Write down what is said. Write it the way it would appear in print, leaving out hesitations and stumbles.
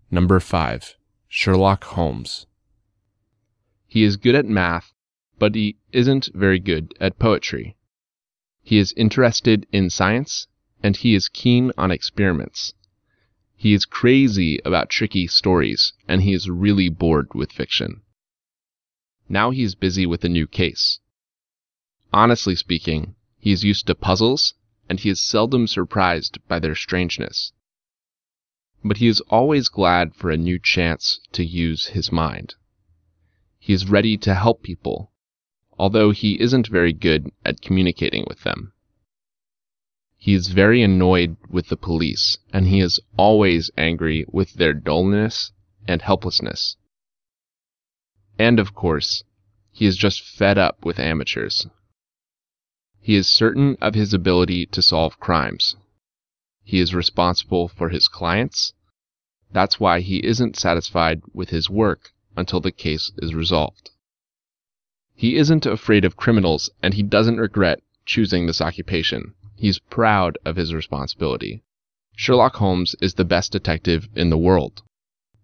Number 5. Sherlock Holmes. He is good at math, but he isn't very good at poetry. He is interested in science, and he is keen on experiments. He is crazy about tricky stories, and he is really bored with fiction. Now he is busy with a new case. Honestly speaking, he is used to puzzles, and he is seldom surprised by their strangeness. But he is always glad for a new chance to use his mind. He is ready to help people, although he isn't very good at communicating with them. He is very annoyed with the police, and he is always angry with their dullness and helplessness. And of course, he is just fed up with amateurs. He is certain of his ability to solve crimes. He is responsible for his clients. That's why he isn't satisfied with his work until the case is resolved. He isn't afraid of criminals, and he doesn't regret choosing this occupation. He's proud of his responsibility. Sherlock Holmes is the best detective in the world.